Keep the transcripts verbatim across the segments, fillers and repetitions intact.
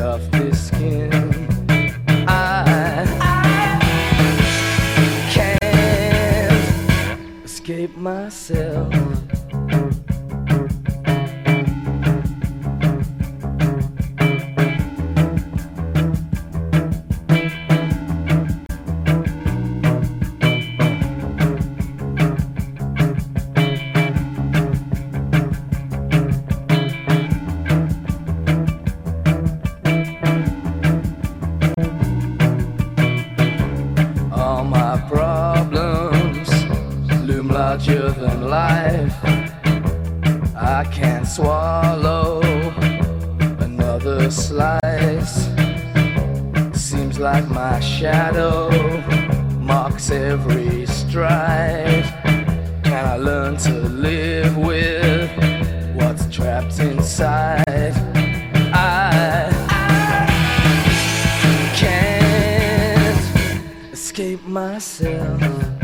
of this skin. I, I can't escape myself. Larger than life, I can't swallow another slice. Seems like my shadow marks every stride. Can I learn to live with what's trapped inside? I, I can't escape myself.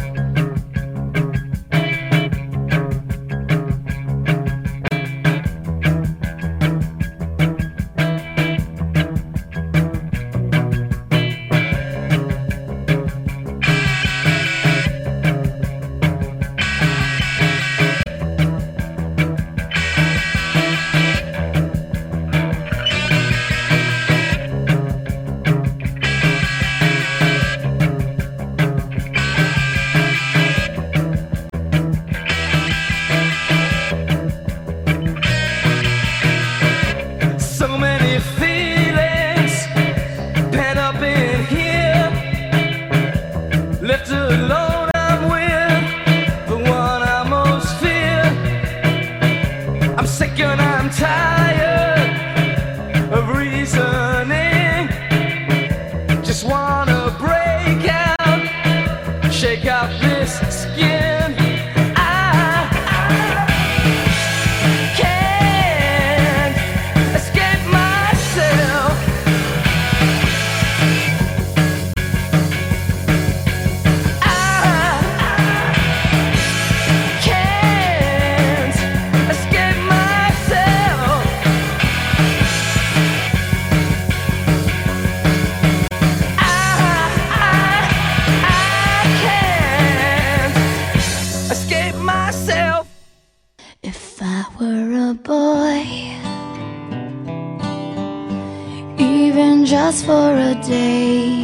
Just for a day,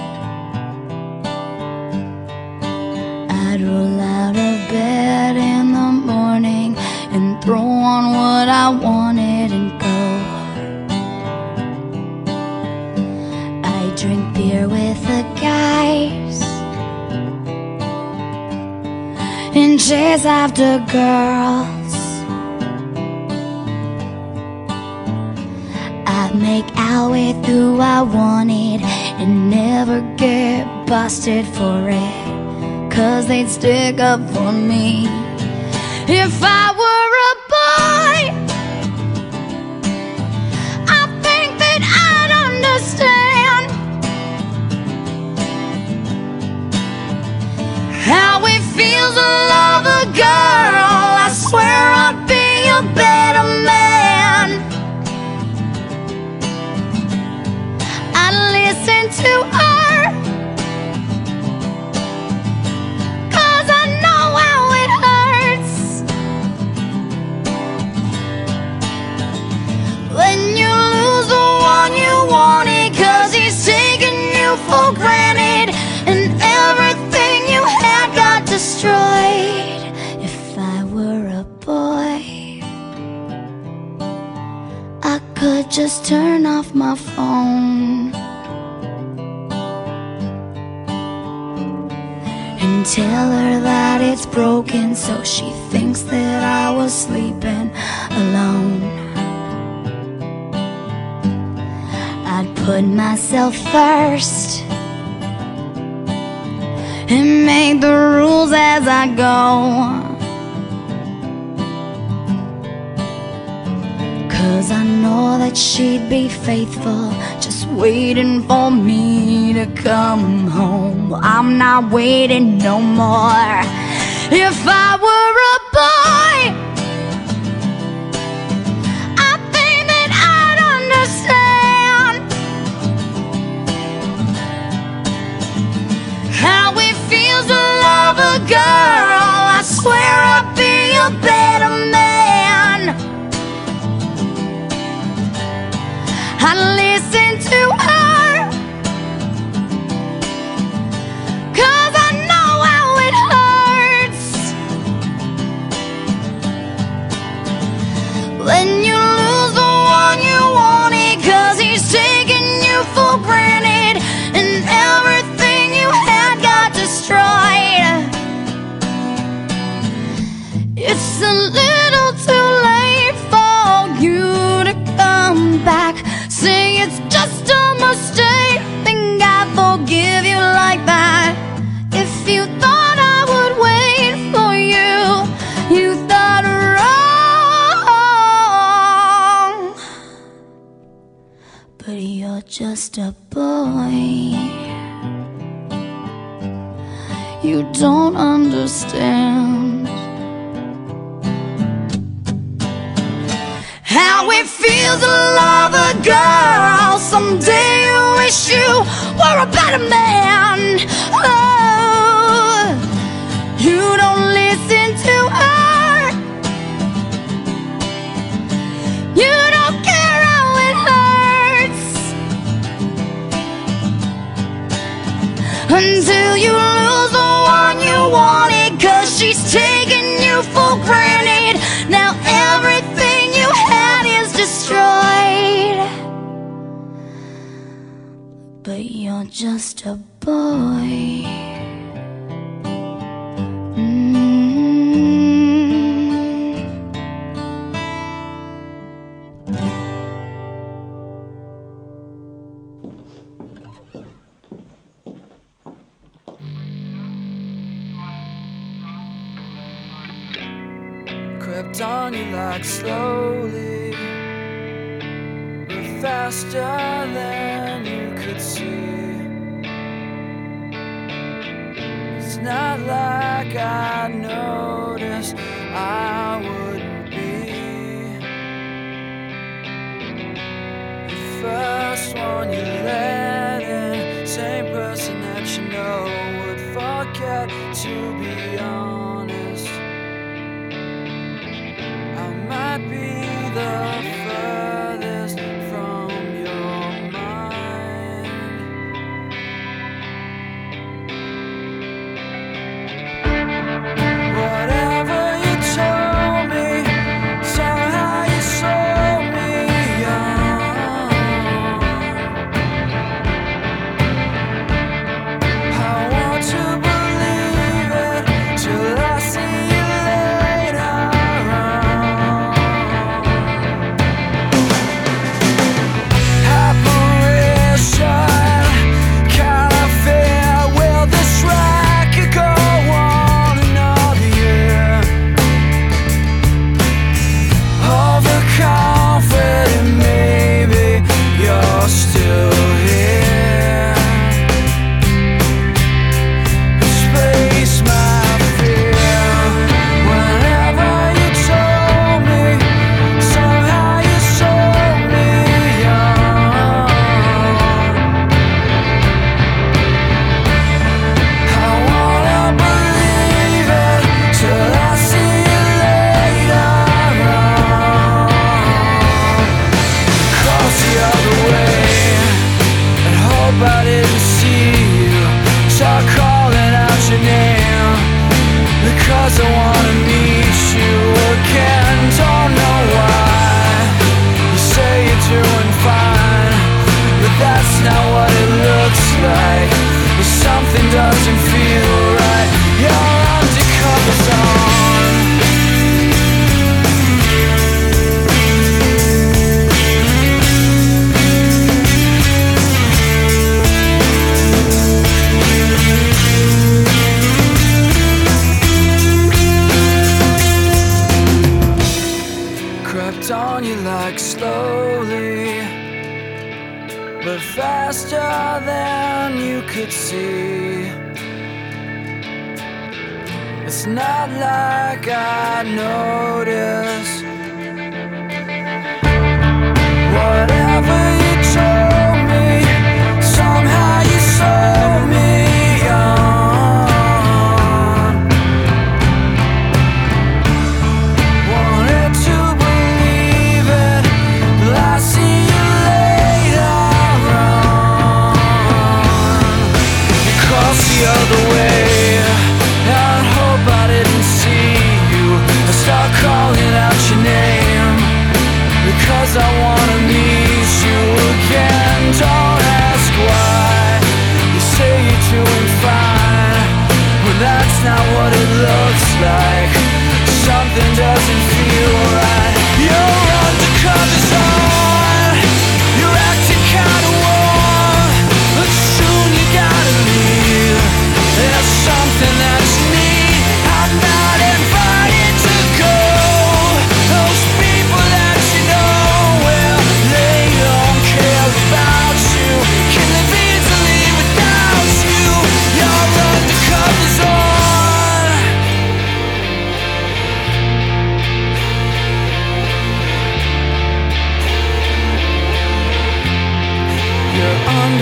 I'd roll out of bed in the morning and throw on what I wanted and go. I drink beer with the guys and chase after girls. Make out with who I wanted and never get busted for it, 'cause they'd stick up for me. If I were a boy, I think that I'd understand how it feels to love a girl. I swear I'd be a better man. Listen to her, 'cause I know how it hurts when you lose the one you wanted, 'cause he's taking you for granted and everything you had got destroyed. If I were a boy, I could just turn off my phone and tell her that it's broken, so she thinks that I was sleeping alone. I'd put myself first and make the rules as I go, 'cause I know that she'd be faithful, just waiting for me to come home. I'm not waiting no more. If I were a boy, I think that I'd understand to her, 'cause I know how it hurts when you lose the one you wanted, 'cause he's taking you for granted and everything you had got destroyed. It's a little too late for you to come back. Say it's just a mistake, think I forgive you like that. If you thought I would wait for you, you thought wrong. But you're just a boy, you don't understand how it feels to love a girl. Someday you wish you were a better man. Oh, you don't listen to her, you don't care how it hurts until you lose the one you wanted, 'cause she's taking you for granted. Now everything you had is destroyed, but you're just a boy. Mm-hmm. Crept on you like slowly, but faster than you could see. It's not like I noticed I wouldn't be the first one you let in, same person that you know would forget. To be honest, I might be the furthest from your mind. Whatever you told me, somehow you sold me on. I want to believe it till I see you later on. Apparition, kind of fear, will this racket go on another year? Overconfident, maybe you're still here. Displace my fear. Whenever you told me, somehow you sold me on. I wanna believe it till I see you later on. Cross the other way and hope I didn't see you. Start calling out your name because I wanna meet you again. Don't know why you say you're doing fine, but that's not what it looks like. If something doesn't feel right, your undercover's on. Crept on you like slowly, but faster than you could see. It's not like I noticed. Whatever you told me, somehow you sold me on. Wanted to believe it, but I see you later on.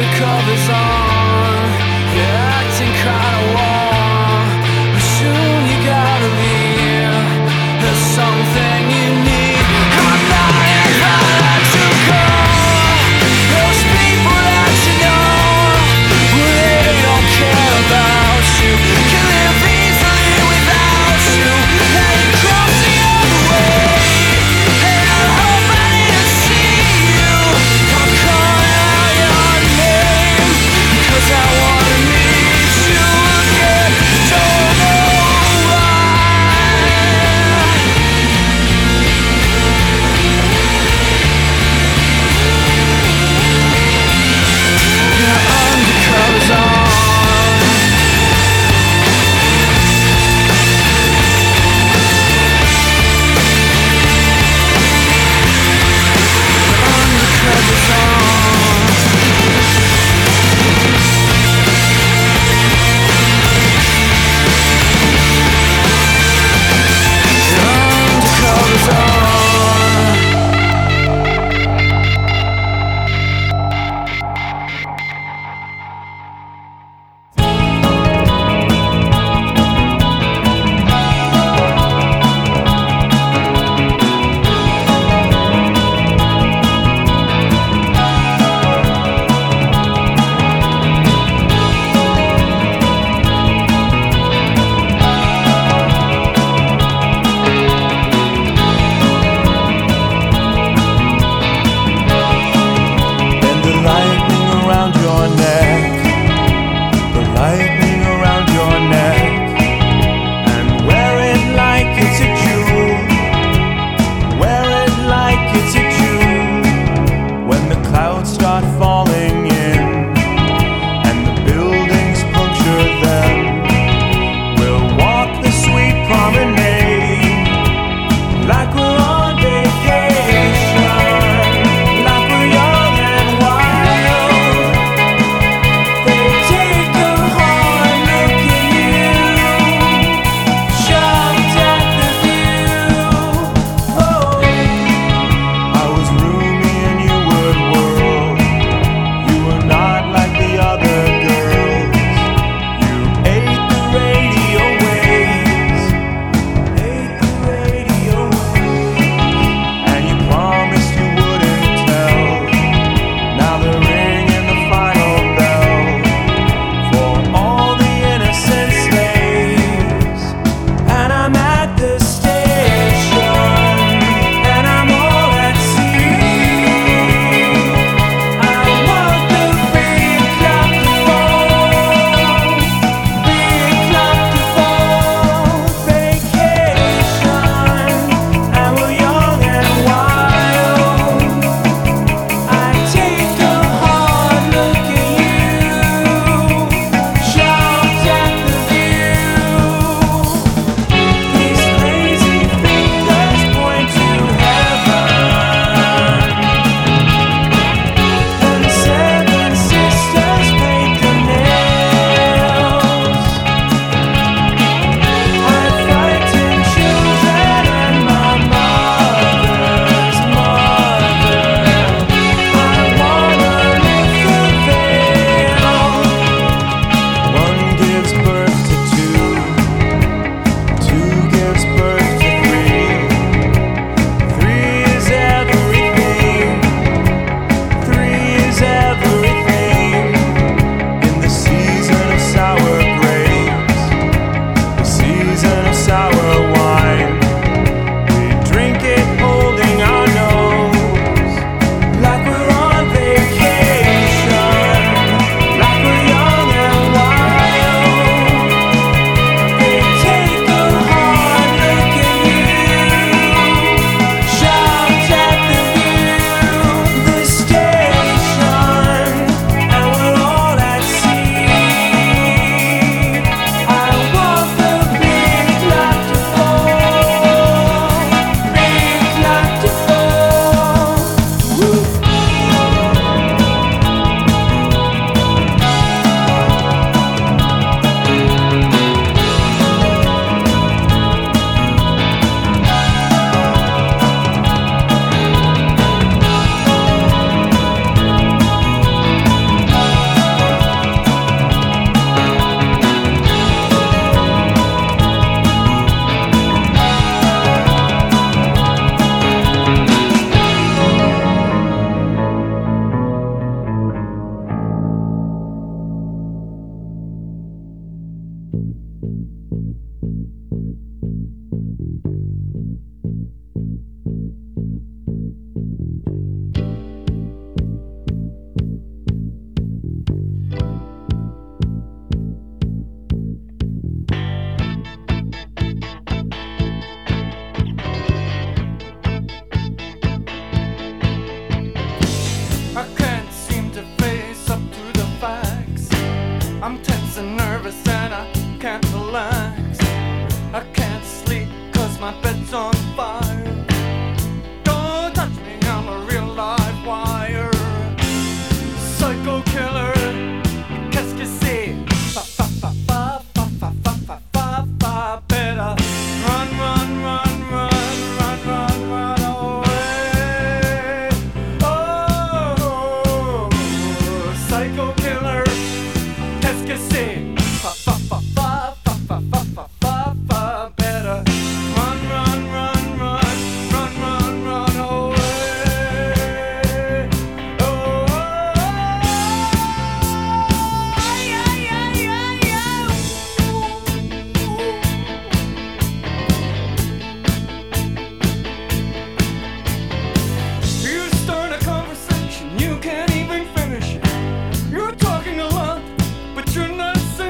covers on. You're acting kinda warm, but soon you gotta leave. There's something you need. I'm not invited to call those people that you know. They don't care about you. Can live easily without you. Now you're crossing over way, and I hope I didn't see you. I'm calling out your name, 'cause I wanna meet you again. psycho killer. Qu'est-ce que c'est? Fa fa fa fa fa fa fa fa fa fa. Better run, run, run, run, run, run, run away. Oh, psycho killer. Qu'est-ce que c'est? Fa fa fa fa fa fa fa fa fa fa. Better run, run, run, run, run, run, run away. Oh, yeah, yeah, yeah, yeah. You start a conversation, you can't even finish it. You're talking a lot, but you're not saying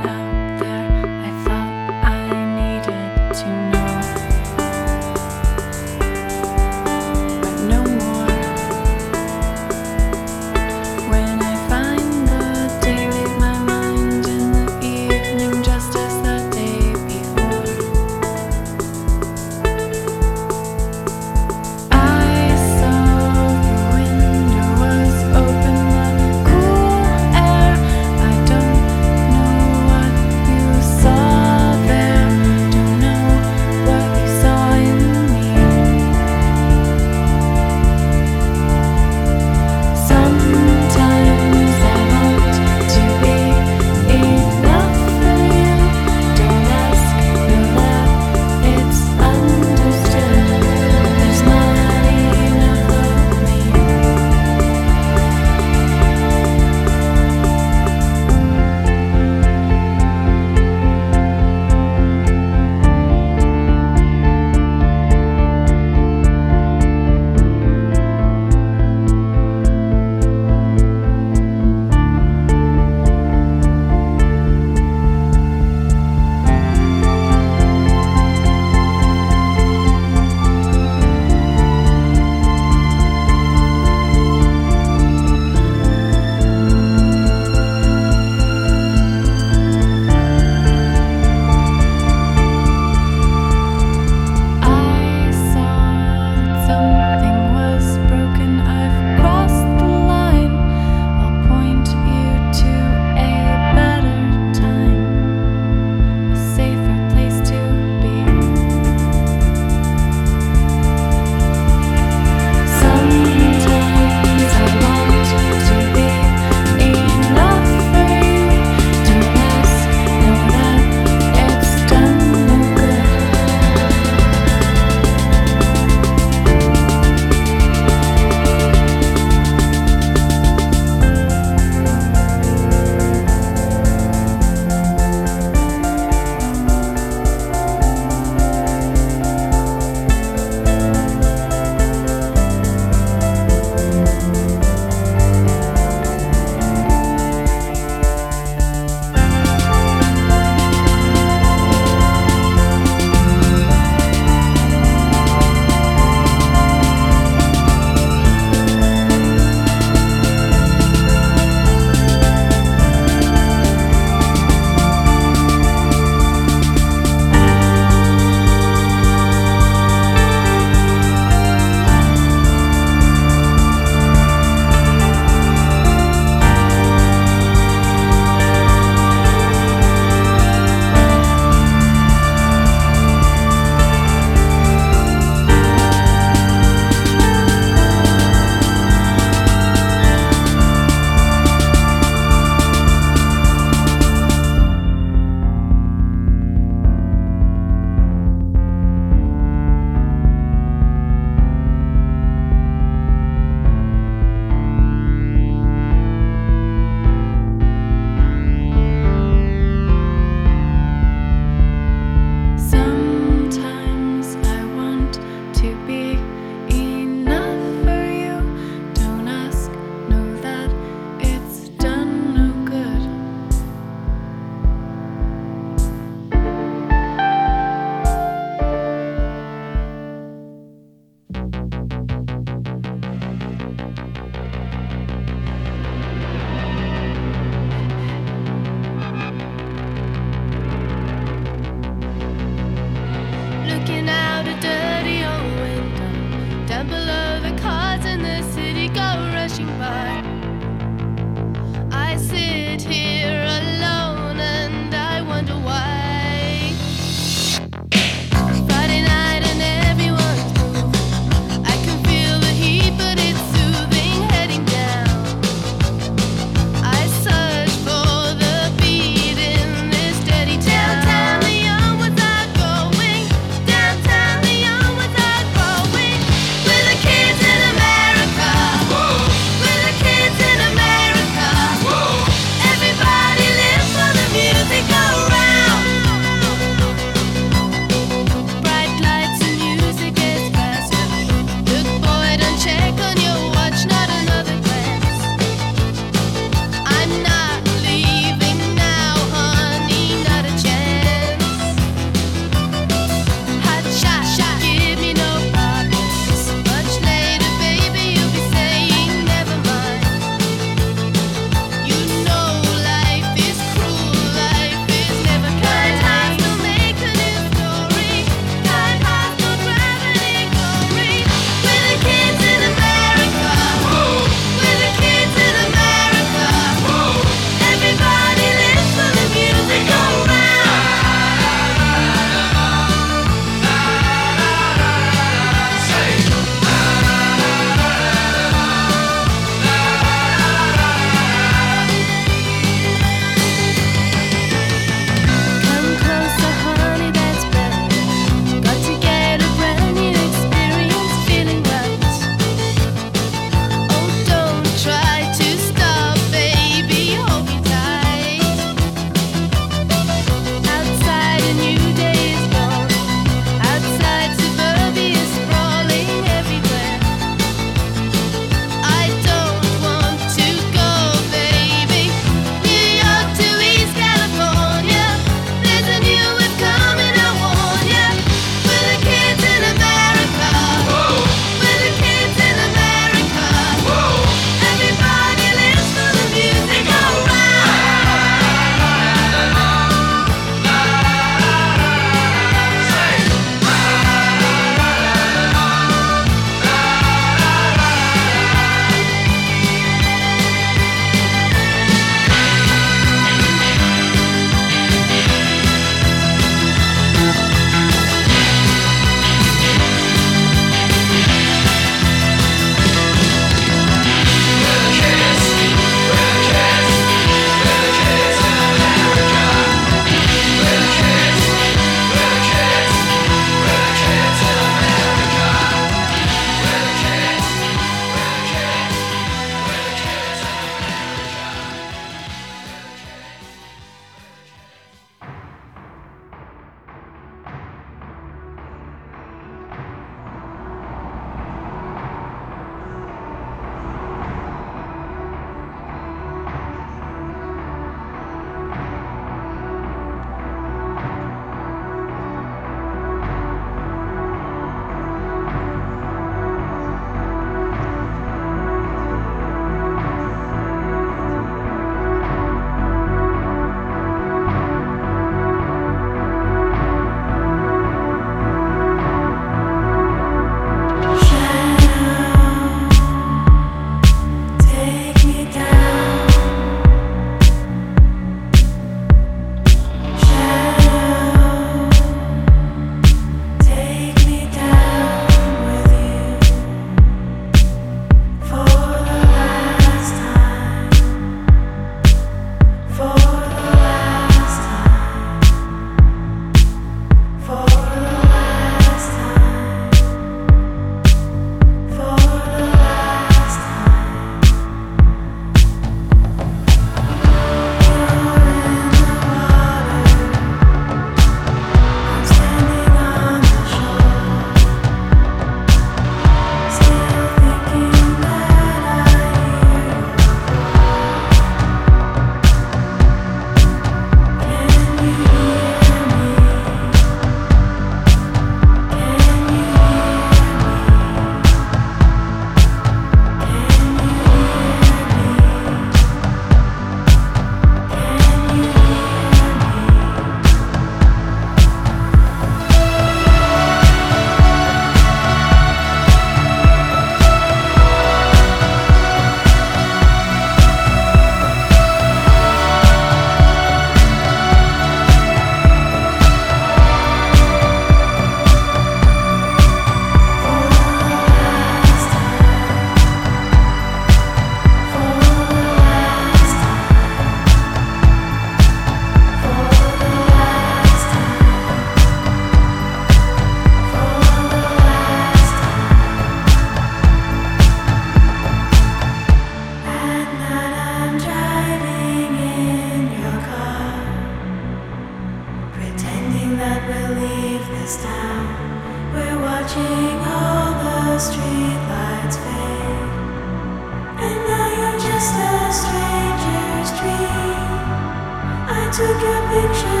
took your picture.